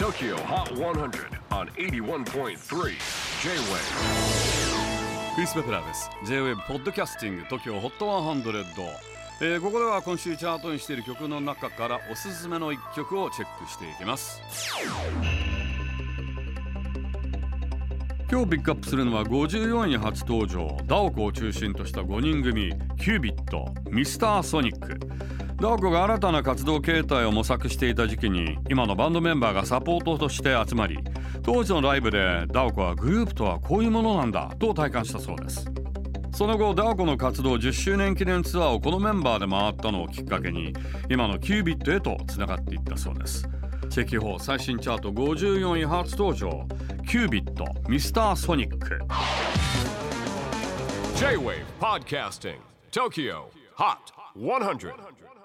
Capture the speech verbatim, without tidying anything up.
Tokyo Hot one hundred on エイティワンポイントスリー J-Wave。 クリス・ベプラーです。 J-Wave ポッドキャスティング TOKYO ホットハンドレッド、えー、ここでは今週チャートにしている曲の中からおすすめのいっきょくをチェックしていきます。今日ピックアップするのはごじゅうよんい初登場、ダオコを中心としたごにん組、キュービット、ミスターソニック。ダオコが新たな活動形態を模索していた時期に今のバンドメンバーがサポートとして集まり、当時のライブでダオコはグループとはこういうものなんだと体感したそうです。その後ダオコの活動じゅっしゅうねん記念ツアーをこのメンバーで回ったのをきっかけに今のキュービットへとつながっていったそうです。チェキホー最新チャートごじゅうよんい初登場、キュービット、ミスターソニック。 J-Wave Podcasting Tokyo Hot one hundred